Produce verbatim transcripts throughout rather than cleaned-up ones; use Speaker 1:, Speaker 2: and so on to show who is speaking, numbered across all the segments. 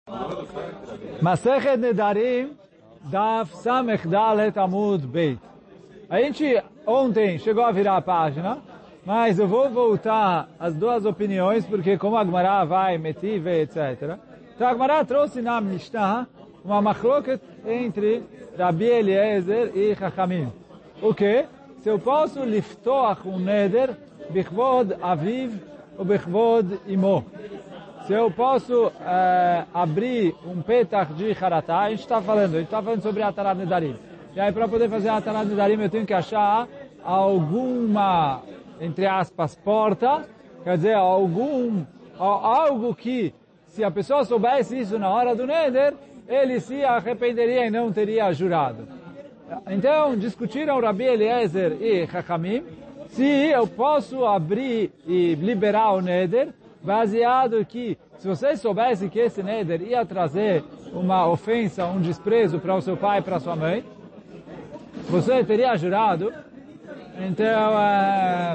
Speaker 1: Masechet Nedarim, Daf Samech Dalet Amud Beit. A gente ontem chegou a virar a página, mas eu vou voltar as duas opiniões, porque como a Gemara vai, Metiv, etcétera. Então a Gemara trouxe na Mishnah uma machloket entre Rabi Eliezer e Chachamim. O que? Se eu posso liftoach um neder, bichvod aviv ou bichvod imo. Se eu posso uh, abrir um petach de haratá, a gente está falando, a gente está falando sobre Atarat Nedarim. E aí para poder fazer Atarat Nedarim eu tenho que achar alguma, entre aspas, porta, quer dizer, algum, algo que, se a pessoa soubesse isso na hora do neder, ele se arrependeria e não teria jurado. Então, discutiram Rabi Eliezer e Chachamim se eu posso abrir e liberar o neder, baseado que, se você soubesse que esse neder ia trazer uma ofensa, um desprezo para o seu pai e para a sua mãe, você teria jurado. Então, uh,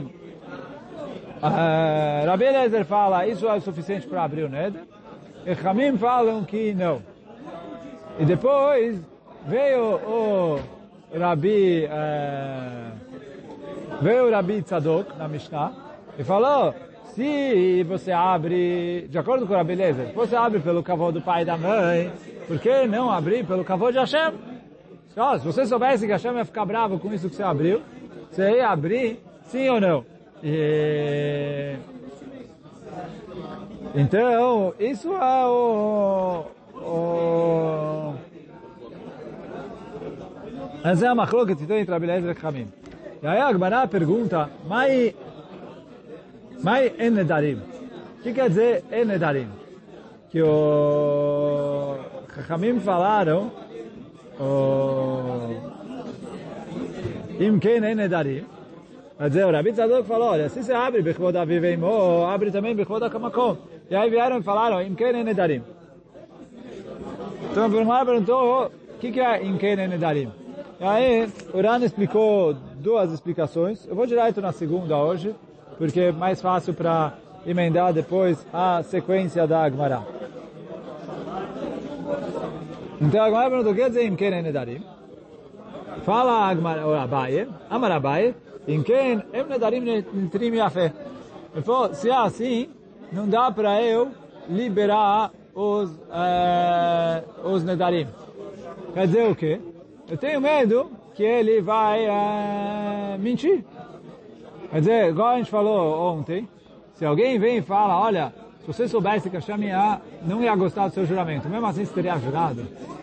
Speaker 1: uh, Rabi Eliezer fala, isso é o suficiente para abrir o neder, e Chachamim falam que não. E depois veio o Rabi, uh, veio o Rabi Tzadok na Mishnah e falou, se você abre, de acordo com o Rabi Eliezer, você abre pelo kavod do pai e da mãe, por que não abrir pelo kavod de Hashem? Então, se você soubesse que Hashem ia ficar bravo com isso que você abriu, você ia abrir, sim ou não? E... Então, isso é o... o... Essa é a machloket entre Rabi Eliezer e Chachamim. E aí a Gemara pergunta, Mai Mai en nedarim? O que quer dizer en nedarim? Que o Chachamim falaram, Im ken en nedarim. Quer dizer, o Rabi Tzadok falou, olha, se você abre bechvod aviv imo, abre também bechvod hamakom. E aí vieram e falaram, Im ken en nedarim. Então a Gemara perguntou, o que é Im ken en nedarim? E aí, o Ran explicou duas explicações. Eu vou direto na segunda hoje, porque é mais fácil para emendar depois a sequência da Gemara. Então a Gemara perguntou, o que quer dizer Imken en nedarim? Fala a Gemara, o Abaye, Amar Abaye, Imken en nedarim nitrim yafé. Ele falou, se é assim, não dá para eu liberar os, uh, os nedarim. Quer dizer o quê? Eu tenho medo que ele vai uh, mentir. Quer dizer, igual a gente falou ontem, se alguém vem e fala, olha, se você soubesse que Hashem ia, não ia gostar do seu juramento, mesmo assim você teria jurado.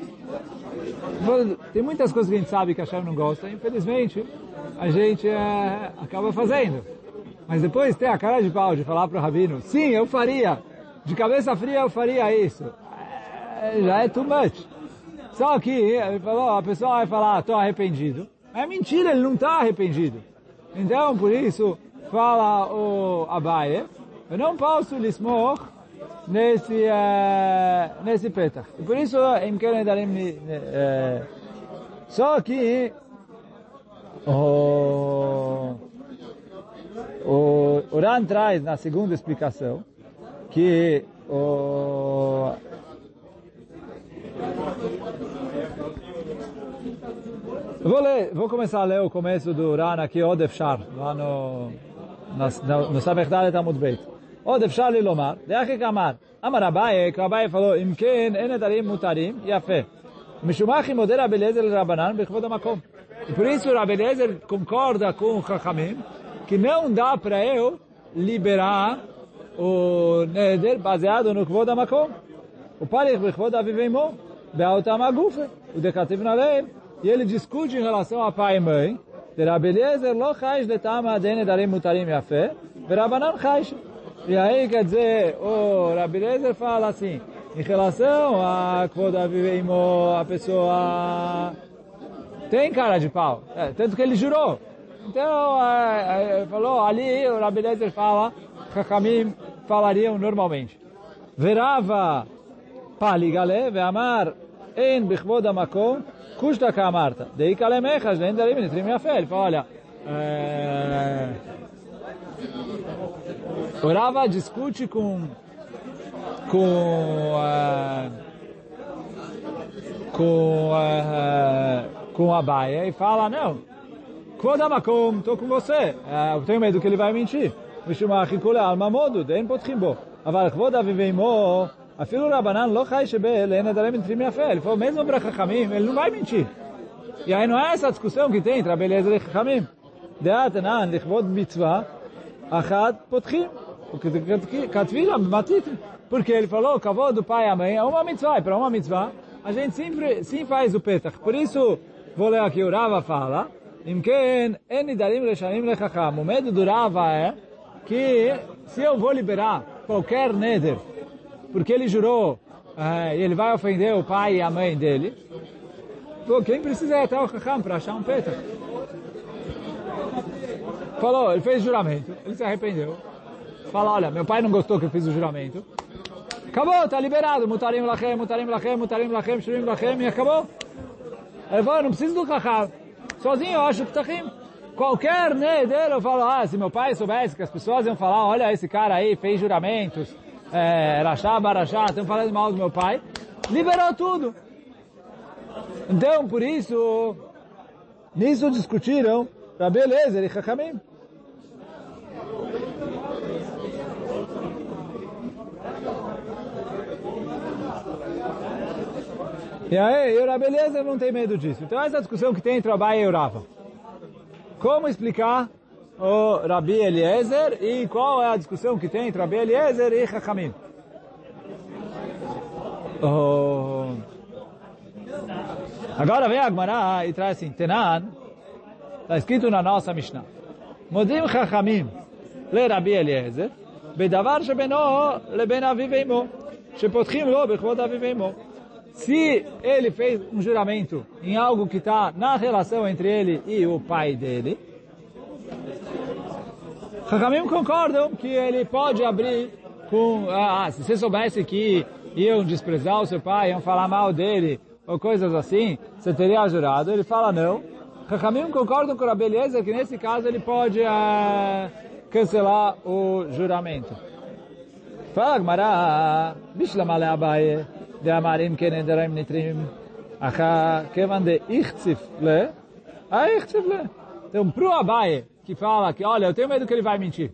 Speaker 1: Tem muitas coisas que a gente sabe que Hashem não gosta, infelizmente a gente uh, acaba fazendo. Mas depois tem a cara de pau de falar para o Rabino, sim, eu faria, de cabeça fria eu faria isso. É, já é too much. Só que, ele falou, a pessoa vai falar, estou arrependido. É mentira, ele não está arrependido. Então, por isso, fala o Abaye, eu não posso lismor nesse, uh, nesse petach. E por isso, em que nedarim, uh, só que o, o, o Ran traz na segunda explicação que o Eu vou ler, vou começar a ler o começo do Ran aqui, Od Efshar, lá no, no, no Samech Dalet Amud Beit. Od Efshar li lomar, de'achi kamar, Amar Abaye, que o Abaye falou, Im ken en nedarim mutarim, yafé. Mishumach imoder Rabi Eliezer l'Rabanan, bechvod hamakom. E por isso Rabi Eliezer concorda com o Chachamim, que não dá para eu liberar o neder baseado no kvod hamakom. O parich bechvod aviv imo, be'autam agufe, o decativ na lei. E ele discute em relação a pai e mãe. De Rabi Eliezer lo chaish letama de nedarim mutarim yafé, verabanan chaish. E aí quer dizer, o Rabi Eliezer fala assim, em relação a kvod aviv imo, a pessoa tem cara de pau, é, tanto que ele jurou. Então, é, é, falou, ali o Rabi Eliezer fala, Chachamim falariam normalmente. Verava paligale, ve'amar en bichvod hamakom, Kushta Kamarta, dei kalemechas, nem darim nitrim yafé. Ele fala, olha, é... o Rava discute com, com uh, com, uh, com a Abaye e fala, não, Kvodamakom, estou com você, uh, eu tenho medo que ele vai mentir. Mishumachikule almamodu, den potchimbo. Aval Kvodaviveimo, afilo Rabanan lo chai shebe, lena darem entrim yafé. Ele falou, mesmo para Chachamim, ele não vai mentir. E aí não é essa discussão que tem entre a beleza de Chachamim. Deatanan, lichvod mitzvah, achad potchim. Porque ele falou, kavod do pai e a mãe é uma mitzvah, e para uma mitzvah, a gente sempre sim faz o petach. Por isso, vou ler aqui, o Rava fala, Imken, en nidarim leshanim lechacham. O medo do Rava é que se eu vou liberar qualquer neder, porque ele jurou, e ele vai ofender o pai e a mãe dele, pô, quem precisa ir até o chacham para achar um petach? Falou, ele fez juramento, ele se arrependeu. Fala, olha, meu pai não gostou que eu fiz o juramento. Acabou, está liberado. Mutarim lachem, mutarim lachem, mutarim lachem, shurim lachem, e acabou. Ele falou, eu não preciso do chacham. Sozinho eu acho ptachim. Qualquer neder, eu falo, ah, se meu pai soubesse que as pessoas iam falar, olha, esse cara aí fez juramentos, é, rachá, barachá, estão falando mal do meu pai, liberou tudo. Então, por isso, nisso discutiram Rabi Eliezer e Chachamim. E aí, o Rabi Eliezer não tem medo disso. Então essa discussão que tem entre o Abaye e o Rava. Como explicar o Rabi Eliezer e qual é a discussão que tem entre o Rabi Eliezer e Chachamim? Oh. Agora vem a Gemara e traz assim, Tenan, está escrito na nossa Mishnah. Modim Chachamim le Rabi Eliezer, bedavar shebeno leben aviv veimo, shepotchim lo bechvod aviv veimo. Se ele fez um juramento em algo que está na relação entre ele e o pai dele, Chachamim concordam que ele pode abrir com, ah, se você soubesse que iam desprezar o seu pai, iam falar mal dele, ou coisas assim, você teria jurado. Ele fala não. Chachamim concordam com o Rabi Eliezer que nesse caso ele pode ah, cancelar o juramento. Fala Gemara, Bishlama Abaye. De amarim que nedarim nitrim, acha kevan de ichtzif le, a ichtzif le. Então, pro Abaye, que fala que, olha, eu tenho medo que ele vai mentir.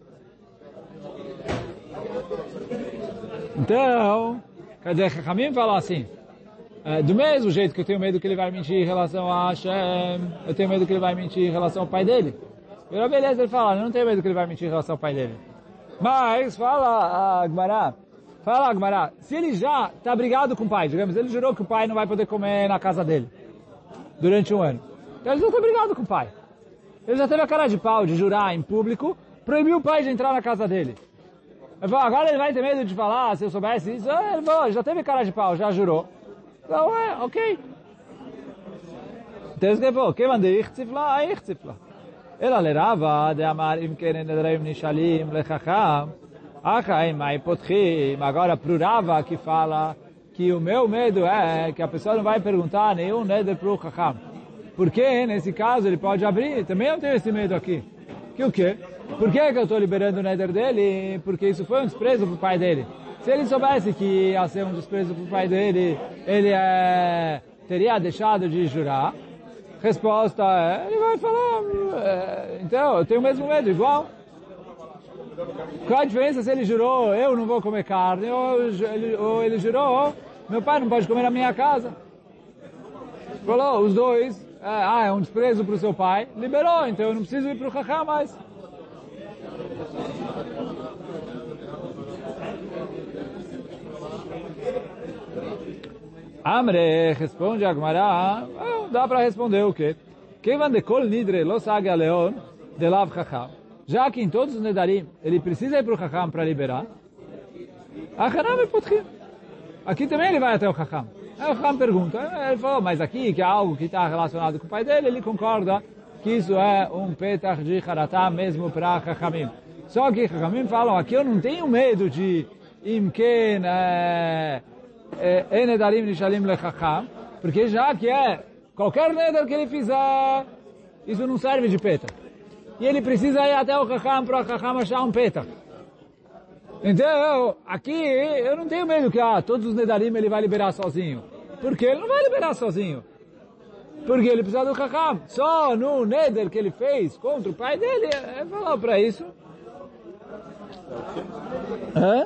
Speaker 1: Então, quer dizer, Chachamim fala assim, é, do mesmo jeito que eu tenho medo que ele vai mentir em relação a Hashem, eu tenho medo que ele vai mentir em relação ao pai dele. E o Rabi Eliezer fala, eu não tenho medo que ele vai mentir em relação ao pai dele. Mas, fala a Gemara, Fala, Agmará, se ele já está brigado com o pai, digamos, ele jurou que o pai não vai poder comer na casa dele durante um ano. Então ele já está brigado com o pai. Ele já teve a cara de pau de jurar em público, proibiu o pai de entrar na casa dele. Ele falou, agora ele vai ter medo de falar, se eu soubesse isso. Ele falou, já teve cara de pau, já jurou. Então, é, ok. Então ele falou, quem mandou ichtzifla, a ichtzifla. Ela lerava de amar im keren nedraim nishalim lechacham. Agora pro Rava que fala que o meu medo é que a pessoa não vai perguntar nenhum neder pro Chacham. Porque nesse caso ele pode abrir, também eu tenho esse medo aqui. Que o quê? Por que, que eu estou liberando o neder dele? Porque isso foi um desprezo pro pai dele. Se ele soubesse que ia ser um desprezo pro pai dele, ele é, teria deixado de jurar. Resposta é, ele vai falar, é, então eu tenho o mesmo medo, igual. Qual a diferença se ele jurou, eu não vou comer carne, ou ele, ou ele jurou, meu pai não pode comer na minha casa. Falou, os dois, é, ah, é um desprezo para o seu pai, liberou, então eu não preciso ir para o Chacham mais. Amre, responde a Gemara, ah, dá para responder o quê? Quem van de kol nidre lo saga leon de lav Chacham. Já que em todos os nedarim ele precisa ir para o Chacham para liberar, aqui também ele vai até o Chacham. Aí o Chacham pergunta, ele falou, mas aqui que é algo que está relacionado com o pai dele, ele concorda que isso é um petach de haratá mesmo para Chachamim. Só que Chachamim falam, aqui eu não tenho medo de imken nedarim nishalim lechacham, porque já que é qualquer neder que ele fizer, isso não serve de petach. E ele precisa ir até o Chacham para o Chacham achar um petach. Então, aqui, eu não tenho medo que ah, todos os nedarim ele vai liberar sozinho. Porque ele não vai liberar sozinho. Porque ele precisa do Chacham. Só no Neder que ele fez contra o pai dele, é falar para isso. Hã?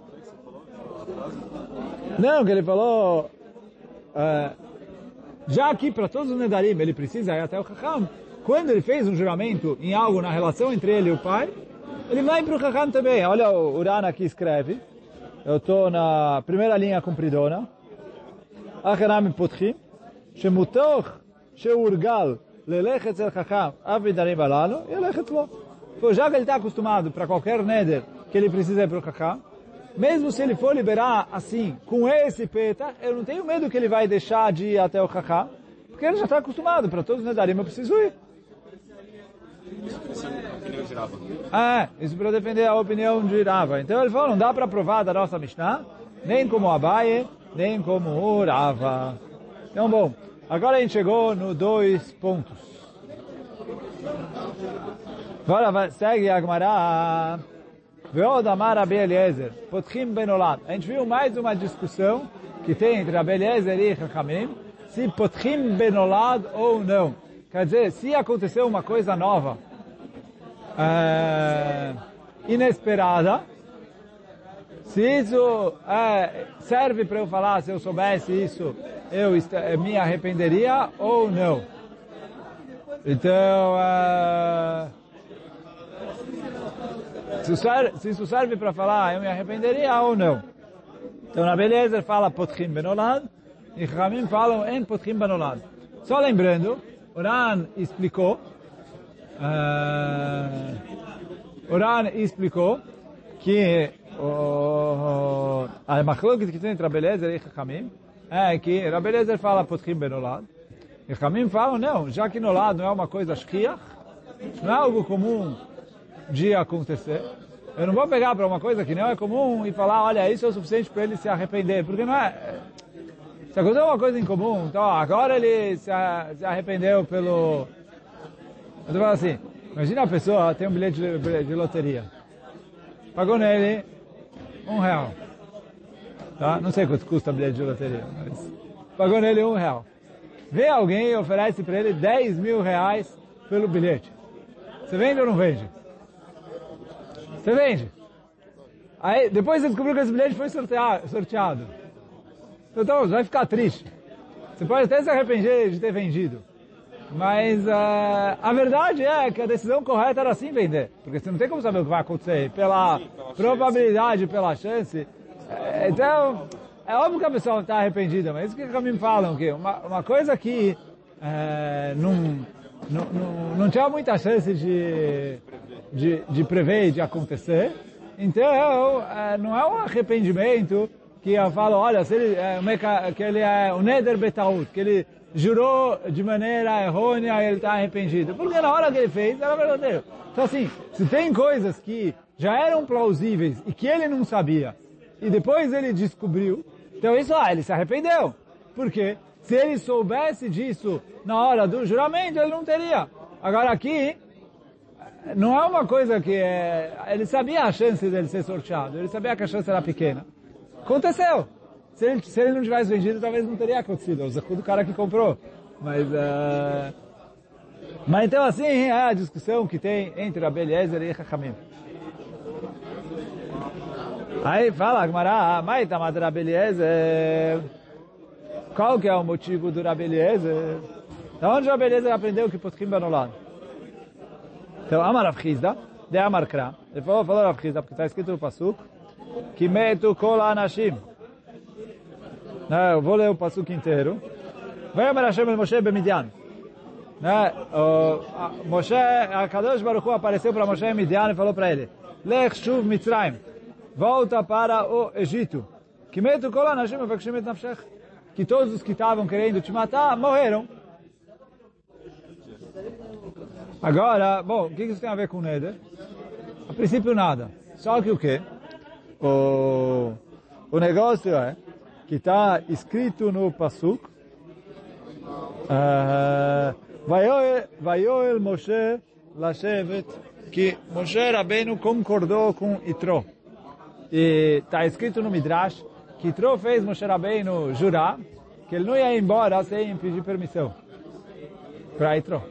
Speaker 1: Não, que ele falou... Uh, já que para todos os Nedarim ele precisa ir até o Chacham, quando ele fez um juramento em algo na relação entre ele e o pai, ele vai para o Chacham também. Olha, o Urana aqui escreve. Eu estou na primeira linha compridona. Achanam potchim, shemutoch sheurgal lelechet el Chacham avidarim alalo, yelechet lo. Já que ele está acostumado para qualquer Neder que ele precisa ir para o Chacham, mesmo se ele for liberar assim, com esse peta, eu não tenho medo que ele vai deixar de ir até o Chacham, porque ele já está acostumado, para todos os Nedarim eu preciso ir. Ah, isso para defender a opinião de Rava. Então ele falou, não dá para provar da nossa Mishnah, nem como Abaye, nem como o Rava. Então bom, agora a gente chegou no dois pontos. Agora segue a Gemara. Veod amar Rabi Eliezer, potchim benolad. A gente viu mais uma discussão que tem entre Rabi Eliezer e Chachamim, se potchim benolad ou não. Quer dizer, se aconteceu uma coisa nova, é, inesperada, se isso é, serve para eu falar, se eu soubesse isso, eu me arrependeria ou não. Então, é, se isso serve para falar, eu me arrependeria ou não. Então, na Beleza fala potchim benolad, e Chachamim falam em potchim benolad. Só lembrando, Oran explicou, uh, Oran explicou que uh, a machlokes que tem entre Rabi Eliezer e Chachamim é que Rabi Eliezer fala potchim benolad, e Chachamim falam, não, já que nolad não é uma coisa shchiach, não é algo comum de acontecer, eu não vou pegar para uma coisa que não é comum e falar, olha, isso é o suficiente para ele se arrepender, porque não é... Se aconteceu uma coisa incomum, então agora ele se arrependeu pelo... Eu tô falando assim, imagina a pessoa tem um bilhete de, de loteria, pagou nele um real, tá? Não sei quanto custa o bilhete de loteria, mas pagou nele um real. Vem alguém e oferece para ele dez mil reais pelo bilhete. Você vende ou não vende? Você vende. Aí, depois você descobriu que esse bilhete foi sorteado. sorteado. Então, você vai ficar triste. Você pode até se arrepender de ter vendido. Mas uh, a verdade é que a decisão correta era sim vender. Porque você não tem como saber o que vai acontecer. Pela sim, pela probabilidade, chance. pela chance. É, então, é óbvio que a pessoa está arrependida. Mas isso que me falam. Que uma, uma coisa que é, não, não, não, não tinha muita chance de... De, de prever e de acontecer. Então, é, não é um arrependimento que eu falo, olha, se ele, é, que ele é um neder betaut, que ele jurou de maneira errônea e ele está arrependido. Porque na hora que ele fez, era verdadeiro. Então assim, se tem coisas que já eram plausíveis e que ele não sabia, e depois ele descobriu, então isso, ah, ele se arrependeu. Por quê? Se ele soubesse disso na hora do juramento, ele não teria. Agora aqui, não é uma coisa que é... Ele sabia a chance dele ser sorteado. Ele sabia que a chance era pequena. Aconteceu. Se ele, se ele não tivesse vendido, talvez não teria acontecido. O zaku do cara que comprou. Mas... Uh... Mas então assim é a discussão que tem entre Rabi Eliezer e Chachamim. Aí fala, Gemara, mas tamat Rabi Eliezer. Qual que é o motivo do Rabi Eliezer? Da onde o Rabi Eliezer aprendeu que potchim benolad? Então, Amar Rav Chizda, de Amar Kra, ele falou, falou Rav Chizda, porque está escrito no Pasuk, que metu kol anashim. Eu vou ler o Pasuk inteiro. Vai Amar Hashem el Moshe b'Midian. Moshe, a Kadosh Baruch Hu apareceu para Moshe em Midian e falou para ele, Lech shuv Mitzrayim, volta para o Egito. Que metu kol anashim mevakshim et nafshech. Que todos os que estavam querendo te matar, morreram. Agora, bom, o que isso tem a ver com o Neder? A princípio nada. Só que o quê? O, o negócio é que está escrito no Pasuk, Vayoel Moshe Lashevet, que Moshe Rabbeinu concordou com Yitro. E está escrito no Midrash que Yitro fez Moshe Rabbeinu jurar que ele não ia embora sem pedir permissão para Yitro.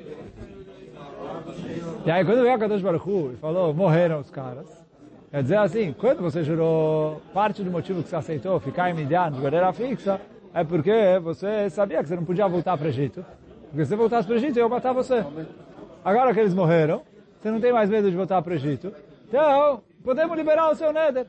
Speaker 1: E aí quando veio a Kadosh Baruch Hu e falou, morreram os caras, quer dizer assim, quando você jurou, parte do motivo que você aceitou ficar em Midian de maneira fixa, é porque você sabia que você não podia voltar para o Egito. Porque se você voltasse para o Egito, eu ia matar você. Agora que eles morreram, você não tem mais medo de voltar para o Egito. Então, podemos liberar o seu Neder.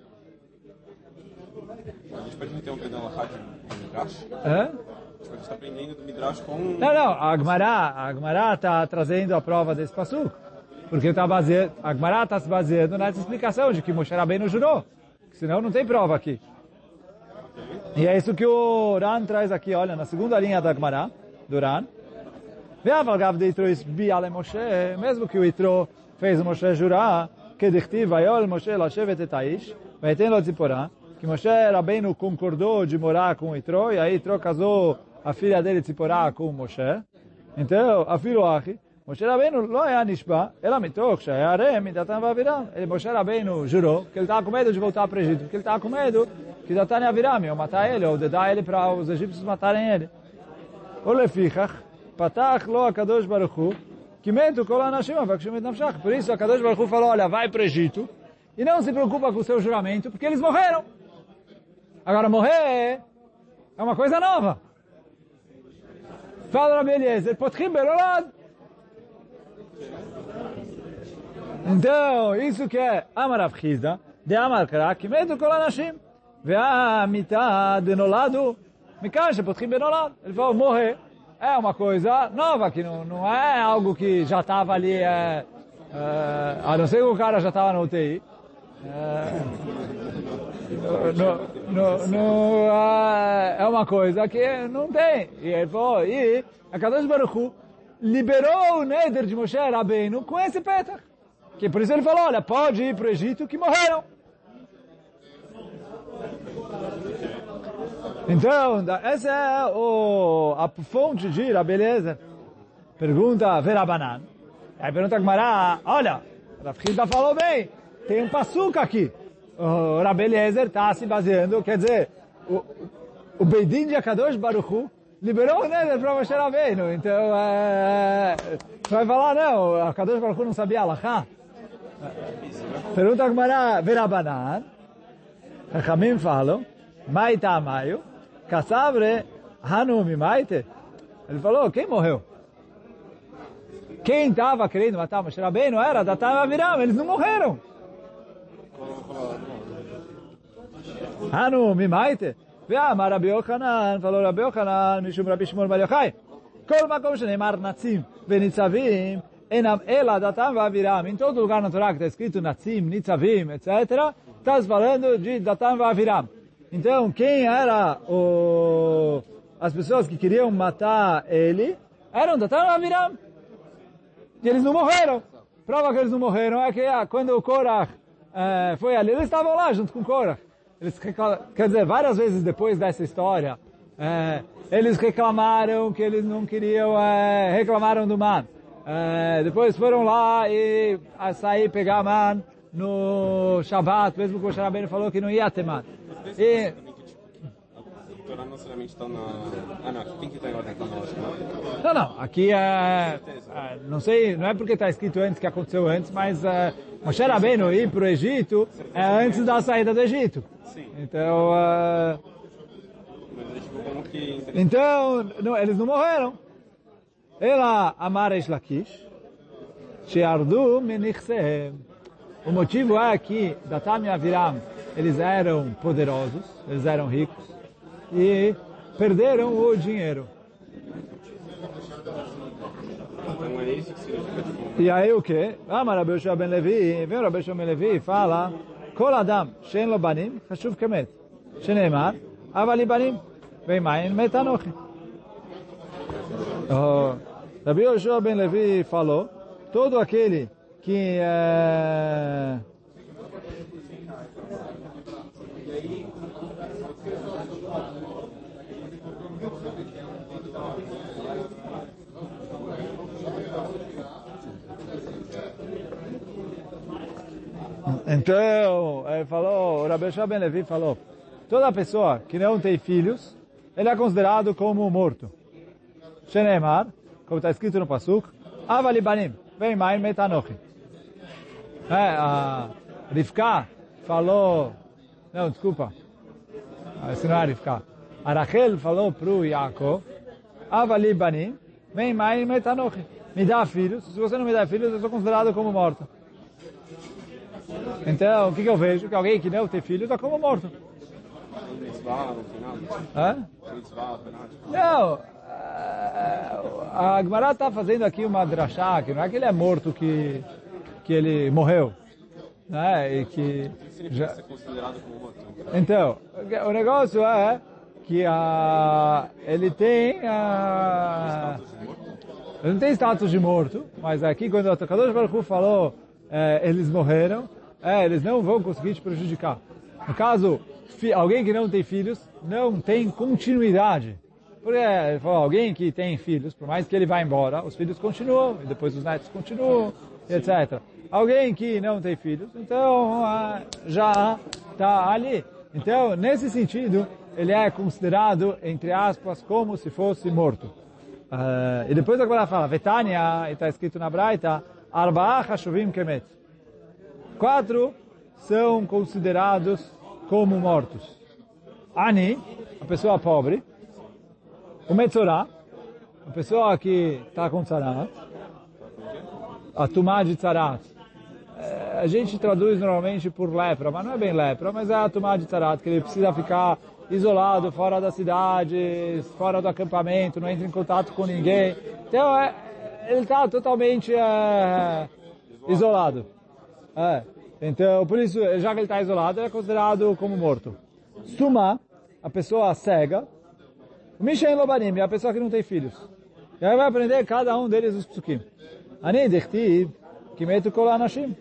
Speaker 2: A gente pode meter um pedão lá de Midrash?
Speaker 1: É?
Speaker 2: A gente está aprendendo do Midrash com...
Speaker 1: Não, não, a Agmará, a Agmará está trazendo a prova desse passuco. Porque tá baseado, a Agmará está se baseando nessa explicação de que Moshe Rabbeinu jurou. Senão não tem prova aqui. E é isso que o Ran traz aqui, olha, na segunda linha da Agmará, do Ran. Mesmo que o Yitro fez o Moshe jurar, que dichtiv vayol Moshe lashevet et haish, vayten lo tziporah, que Moshe Rabbeinu concordou de morar com o Yitro, e aí Yitro casou a filha dele Tziporah com o Moshe. Então, a filho Achi, Moshe Rabbeinu não é nishba, ela mitoch, shaya arem, midatan vaviram. Ele, Moshe Rabbeinu, jurou que ele estava com medo de voltar para o Egito, porque ele estava com medo que Datan e Aviram iam matar ele, ou dedar ele para os egípcios matarem ele. O lefichach, patach lo HaKadosh Baruch Hu, que metu kol anashim avakshim et nafshach. Por isso, a HaKadosh Baruch Hu falou, olha, vai para o Egito, e não se preocupa com o seu juramento, porque eles morreram. Agora, morrer é uma coisa nova. Fala Rabi Eliezer, potchim berolad. Então, isso que é Amar Rav Chizda, de Amar Kra, que metu kol anashim. Ve'amita de nolado, mikar shepotchim benolad. Ele falou, morrer é uma coisa nova, que não, não é algo que já estava ali, é, é, a não ser que o cara já estava na U T I. É, no, no, no, uh, é uma coisa que não tem. E ele falou, e a Kadosh Baruch Hu liberou o Neder de Moshe Rabbeinu com esse petach. Que por isso ele falou, olha, pode ir para o Egito que morreram. Então, essa é o, a fonte de Rabi Eliezer. Pergunta Verabanan. Aí pergunta a Gemara, olha, Rav Chizda falou bem, tem um passuca aqui. O Rabi Eliezer está se baseando, quer dizer, o, o Beidin de Akadosh Baruch Hu liberou o Neder para Moshe Rabbeinu. Então, é, você vai falar, não, Akadosh Baruch Hu não sabia Alachá? Pergunta a Gemara Verabanan. Chachamim falam, Maita Amayu, Kassabre Hanumi Maite. Ele falou, quem morreu? Quem estava querendo matar Moshe Rabbeinu era Datan e Aviram, eles não morreram. Hanumi Maite. Ve'amar Rabi Yochanan, falou Rabi Yochanan, Mishum Rabi Shimon Bar Yochai. Kol makom sheneimar Natzim ve'Nitzavim, enam ela Datan e Aviram. Em todo lugar na Torá que está escrito Natzim, Nitzavim, etcétera, está falando de Datan e Aviram. Então, quem era o... as pessoas que queriam matar ele eram Datan e Aviram. E eles não morreram. Prova que eles não morreram é que ah, quando o Korach eh, foi ali, eles estavam lá junto com o Korach. Eles, quer dizer, várias vezes depois dessa história, eh, eles reclamaram que eles não queriam, eh, reclamaram do man. Eh, depois foram lá e a sair pegar man no Shabbat, mesmo que o Moshe Rabbeinu falou que não ia ter man. E...
Speaker 2: não necessariamente está na... Ah, não, tem que estar em ordem cronológica.
Speaker 1: Não, não, aqui é... é não sei, não é porque está escrito antes que aconteceu antes, mas é, Moshe Rabbeinu ir para o Egito é antes da saída do Egito.
Speaker 2: Sim.
Speaker 1: Então... É, então, não, eles não morreram. Ela amar Eish Lakish, she'ardu menichsehem. O motivo é que Datan e Aviram, eles eram poderosos, eles eram ricos, e perderam o dinheiro. E aí o que? Ah, mas Rabi Yoshua ben Levi, vem o Rabi Yoshua ben Levi e fala, Kol Adam, she'en lo banim, chashuv kemet. Sheneimar, aval li banim, veimayin met anochi. Rabi Yoshua ben Levi falou, todo aquele que é... Então, ele falou, o Rabi Yoshua ben Levi falou, toda pessoa que não tem filhos, ele é considerado como morto. Shenemar, como está escrito no Pasuk, Avalibanim, vem mai metanochi. É, a Rivka falou, não, desculpa, esse não é Rivka. A Rachel falou para o Yaakov, Avalibanim, vem mai metanochi. Me dá filhos, se você não me dá filhos, eu sou considerado como morto. Então, o que, que eu vejo? Que alguém que não tem filhos está como morto. Hã? Não, a Gemara está fazendo aqui uma drachá, que não é que ele é morto, que, que ele morreu. Né? E que já... ser considerado como morto? Então, o negócio é que a, ele tem a, ele não tem status de morto, mas aqui quando o Kadosh Baruch Hu falou é, eles morreram, é, eles não vão conseguir te prejudicar. No caso, fi, alguém que não tem filhos não tem continuidade. Porque ele falou, alguém que tem filhos, por mais que ele vá embora, os filhos continuam, e depois os netos continuam, etcétera. Alguém que não tem filhos, então ah, já está ali. Então, nesse sentido, ele é considerado, entre aspas, como se fosse morto. Uh, e depois agora fala, Vetania, e está escrito na Braita, Arba'ah Hashuvim Kemet. Quatro são considerados como mortos. Ani, a pessoa pobre. O Metzorah, a pessoa que está com tzarat. A Tumá de tzarat. A gente traduz normalmente por lepra, mas não é bem lepra, mas é a Tumá de tzarat, que ele precisa ficar isolado, fora da cidade, fora do acampamento, não entra em contato com ninguém. Então, é, ele está totalmente é, isolado. É. Então, por isso, já que ele está isolado, ele é considerado como morto. Suma, a pessoa cega. Mishen Lobanim, é a pessoa que não tem filhos. E aí vai aprender cada um deles os psukim. Ani dechtiv, kimetu kol anashim.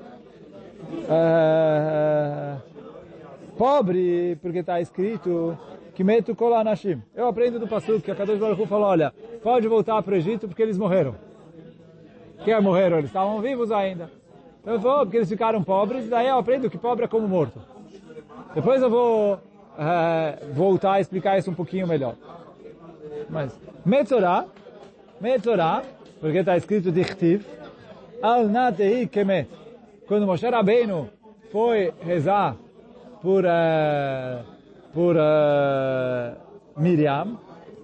Speaker 1: Pobre, porque está escrito kimetu kol anashim. Eu aprendo do Pasuk que a Kadosh Baruch Hu falou, olha, pode voltar para o Egito porque eles morreram. Que morreram? Eles estavam vivos ainda. Então eu falo, porque eles ficaram pobres, daí eu aprendo que pobre é como morto. Depois eu vou é, voltar a explicar isso um pouquinho melhor. Mas, Metzorah, Metzorah, porque está escrito Dichtiv, Al Natei Kemet. Quando Moshe Rabbeinu foi rezar por, uh, por uh, Miriam,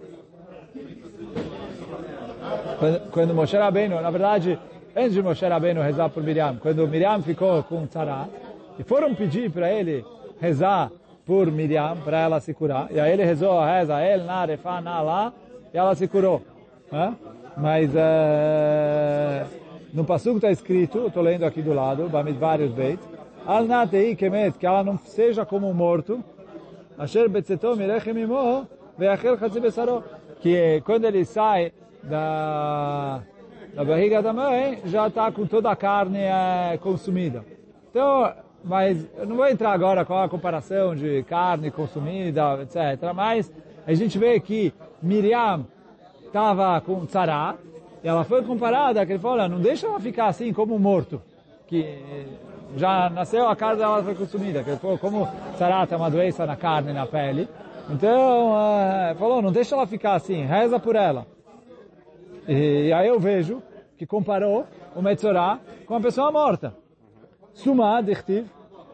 Speaker 1: quando, quando Moshe Rabbeinu, na verdade, antes de Moshe Rabbeinu rezar por Miriam, quando Miriam ficou com tzara, e foram pedir para ele rezar por Miriam, para ela se curar, e aí ele rezou a reza, El, Na, Refa, Na, Lá, e ela se curou. Né? Mas uh, no Pasuk está escrito, estou lendo aqui do lado, Bamidbar Beit, Al Natei Kemet, que ela não seja como um morto, Asher Betzeto Mirechem Imo, Veachel Chatzi Besaro, que quando ele sai da, da barriga da mãe, já está com toda a carne é, consumida. Então, mas eu não vou entrar agora com a comparação de carne consumida, etcétera. Mas a gente vê que Miriam estava com tzara, e ela foi comparada, que ele falou, olha, não deixa ela ficar assim como um morto, que já nasceu, a carne dela foi consumida, que ele falou, como tzara é uma doença na carne, na pele, então, uh, falou, não deixa ela ficar assim, reza por ela. E, e aí eu vejo que comparou o Metzorah com uma pessoa morta. Suma, dichtiv,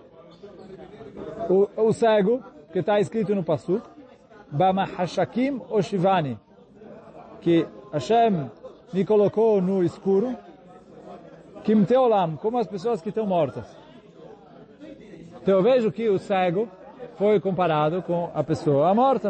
Speaker 1: o, o cego, que está escrito no Pasuk, Bamahashakim Oshivani, que Hashem me colocou no escuro, Kim Teolam, como as pessoas que estão mortas. Então eu vejo que o cego foi comparado com a pessoa morta.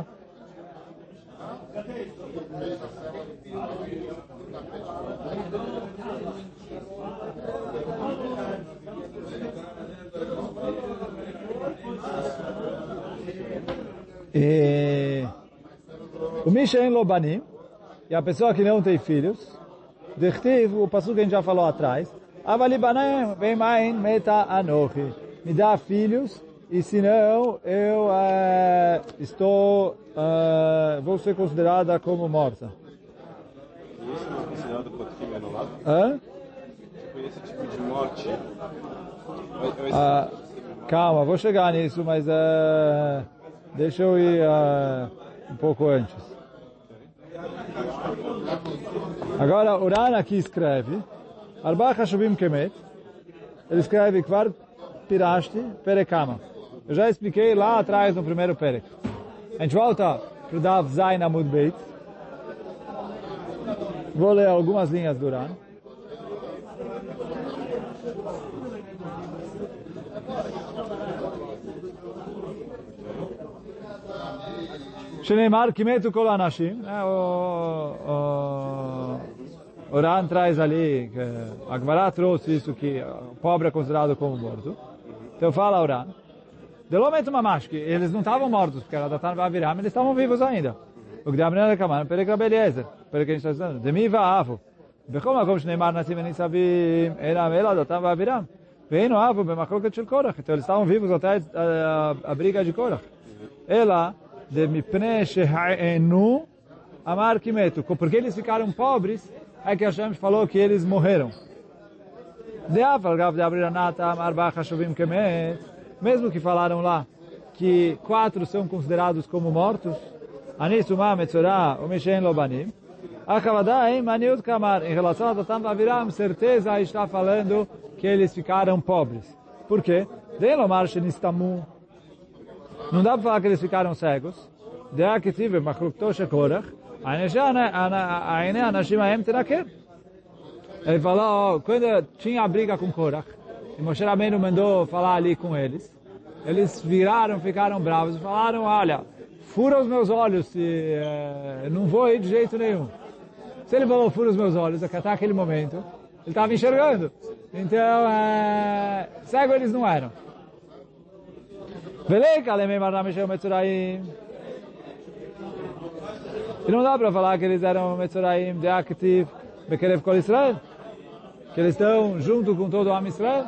Speaker 1: E o Mishen Lobanim, e a pessoa que não tem filhos, Dechtiv, o passo que a gente já falou atrás, Avalibanem vem main meta anochi, me dá filhos, e senão eu uh, estou, uh, vou ser considerada como morta.
Speaker 2: Isso não é considerado potim anulado?
Speaker 1: Hã?
Speaker 2: Tipo, esse tipo de morte...
Speaker 1: Uh, calma, vou chegar nisso, mas uh, deixa eu ir... Uh, um pouco antes. Agora, o Ran aqui escreve, Arba Hashuvim Kemet, ele escreve Kvar Pirashti Perekama. Eu já expliquei lá atrás no primeiro Perek. A gente volta para o Dav Zayin Amud Beit. Vou ler algumas linhas do Ran. Sheneimar Kimetu Kol Anashim. O Ran traz ali, que a Gemara trouxe isso, que o pobre é considerado como morto. Então fala o Ran. Delomet Mamash, que eles não estavam mortos, porque era Datan Vaviram, eles estavam vivos ainda. O que dá a menina da Kamana, Perek Rabeliezer, Perek que a gente está dizendo, Demi Va'avu. Bechom Akom Shneimar Nassim Enisavim, Elam Ela Datan Vaviram. Veino Avu, Bemachloket Shel Korach. Então eles estavam vivos até a, a, a briga de Korach. Ela, de Mipnei Sheha'enu, Amar Kimetu. Porque eles ficaram pobres, é que Hashem falou que eles morreram. De Afal Gav de Abriranata, Amar Bachashuvim Kemet. Mesmo que falaram lá que quatro são considerados como mortos, Anis, Umah, Metzorah, Umeshen, Lobanim, Akavadai, Maniut, Kamar, em relação a Datan Vaviram, certeza está falando que eles ficaram pobres. Por quê? Delomar Shenistamu. Não dá para falar que eles ficaram cegos. De Akitiv, Machlukto, Shekorach, Aine, Anashim, Aem, Tenaker. Ele falou, quando tinha a briga com Korach, e Moshe Rabbeinu mandou falar ali com eles. Eles viraram, ficaram bravos e falaram, olha, fura os meus olhos, se, é, não vou ir de jeito nenhum. Se ele falou, fura os meus olhos, até aquele momento, ele estava enxergando. Então, é, cego eles não eram. E não dá para falar que eles eram Metzoraim de Aktiv, Bekerev Kol Israel, que eles estão junto com todo o Am Israel.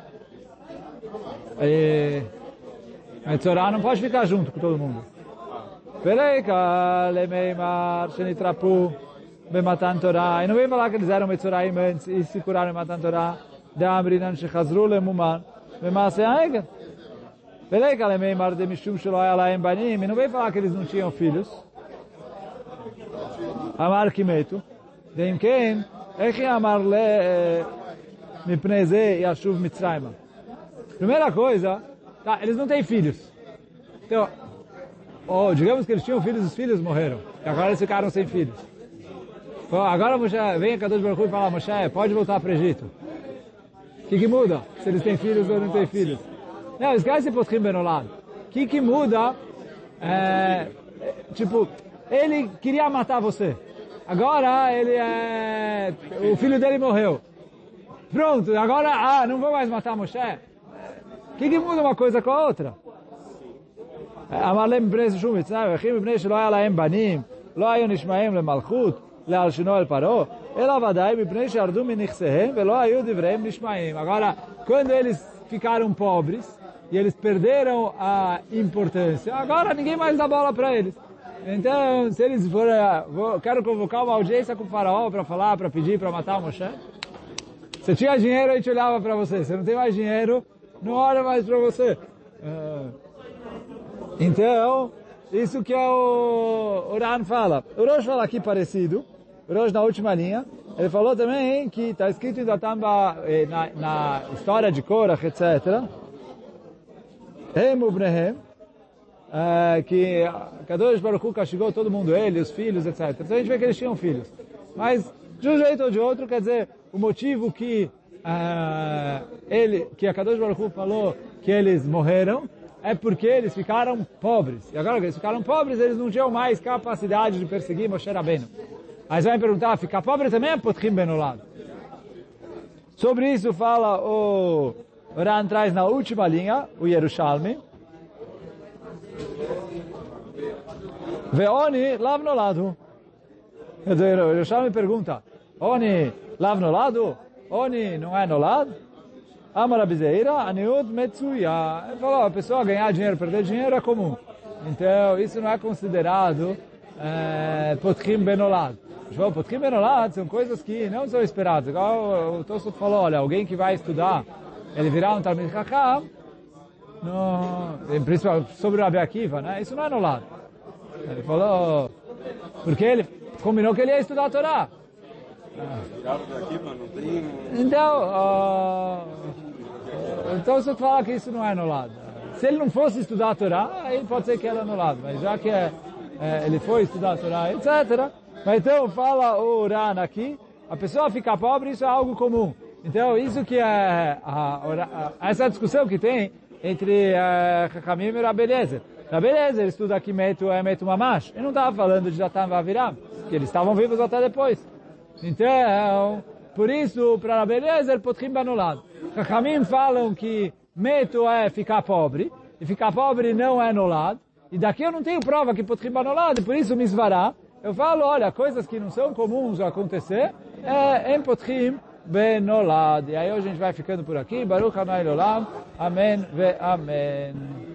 Speaker 1: E Metzorah não pode ficar junto com todo mundo. Peleika lemeimar shenitrapu bematan Torah. E não vem falar que eles eram Metzoraim antes e se curaram em Matan Torah. De amrinan shechazru lemuman bemaaseh ha'egel. Peleika lemeimar de mishum shelo haya lahem banim. E não vem falar que eles não tinham filhos. Amar kimetu. Deim ken echi amar le mipnei ze yashuv Mitzrayma. Primeira coisa, tá, eles não têm filhos. Então, oh, digamos que eles tinham filhos, os filhos morreram. E agora eles ficaram sem filhos. Então, agora Moshe, vem a Kadosh Baruch Hu e fala, Moshe, pode voltar para o Egito. O que, que muda? Se eles têm filhos ou não têm filhos? Não, esquece Potchim Benolad. O que, que muda? É, tipo, ele queria matar você. Agora ele é... o filho dele morreu. Pronto, agora, ah, não vou mais matar Moshe. O que, que muda uma coisa com a outra? Amalem bnei shumitz, achim bnei shelo haya lahem banim, lo hayu nishmaim lemalchut, lealshino el paro, ela vadai bnei shardu minichsehem, velo hayu divreim nishmaim. Agora, quando eles ficaram pobres e eles perderam a importância, agora ninguém mais dá bola para eles. Então, se eles forem, vou, quero convocar uma audiência com o faraó para falar, para pedir, para matar o Moshe. Se tinha dinheiro, a gente olhava para você. Se não tem mais dinheiro, não olha mais para você. Uh, então, isso que é o, o Ran fala. O Rosh fala aqui parecido. O Rosh na última linha. Ele falou também que está escrito em Datamba, na, na história de Korach, etcétera. Hem ubnehem. Uh, que Kadosh Baruch Hu castigou todo mundo, ele, os filhos, etcétera. Então a gente vê que eles tinham filhos. Mas, de um jeito ou de outro, quer dizer, o motivo que uh, ele, que a Kadosh Baruch Hu falou que eles morreram é porque eles ficaram pobres. E agora que eles ficaram pobres, eles não tinham mais capacidade de perseguir Moshe Rabbeinu. Aí você vai me perguntar, ficar pobre também é Potchim Benolad? Sobre isso fala o Ran traz na última linha, o Yerushalmi. Ve'oni lav noladu. Quer dizer, o Yerushalmi pergunta, Oni lav noladu? Oni não é nolad? Amar abizeira, aniud metsuya. Ele falou, a pessoa ganhar dinheiro, perder dinheiro é comum. Então, isso não é considerado é, Potchim Benolad. Potchim Benolad são coisas que não são esperadas. Igual o Tosfot falou, olha, alguém que vai estudar, ele virar um Talmid Chacham, no, principalmente sobre o Rabi Akiva, né? Isso não é nolad. Ele falou, porque ele combinou que ele ia estudar a Torá.
Speaker 2: Tiraram daqui, mano, não tem...
Speaker 1: Então, uh, então você fala que isso não é anulado. Se ele não fosse estudar a Torá, aí pode ser que era anulado. Mas já que é, é, ele foi estudar a Torá, etcétera. Mas então fala o Ran aqui, a pessoa ficar pobre, isso é algo comum. Então isso que é a, a, a, essa discussão que tem entre Chachamim e Rabbi Eliezer. Rabbi Eliezer estuda aqui Metu é Metu Mamash. Ele não estava falando de Datan Vaviram, que eles estavam vivos até depois. Então, por isso, para Rabbi Eliezer, Potrim Banulad. Chachamim falam que Metu é ficar pobre, e ficar pobre não é anulado. E daqui eu não tenho prova que Potrim Banulad, por isso Misvará. Eu falo, olha, coisas que não são comuns a acontecer, é em Potrim Benolad. E aí hoje a gente vai ficando por aqui. Baruch Hanai Olam. Amém ve Amém.